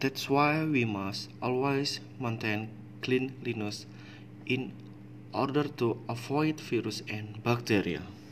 That's why we must always maintain cleanliness in order to avoid virus and bacteria.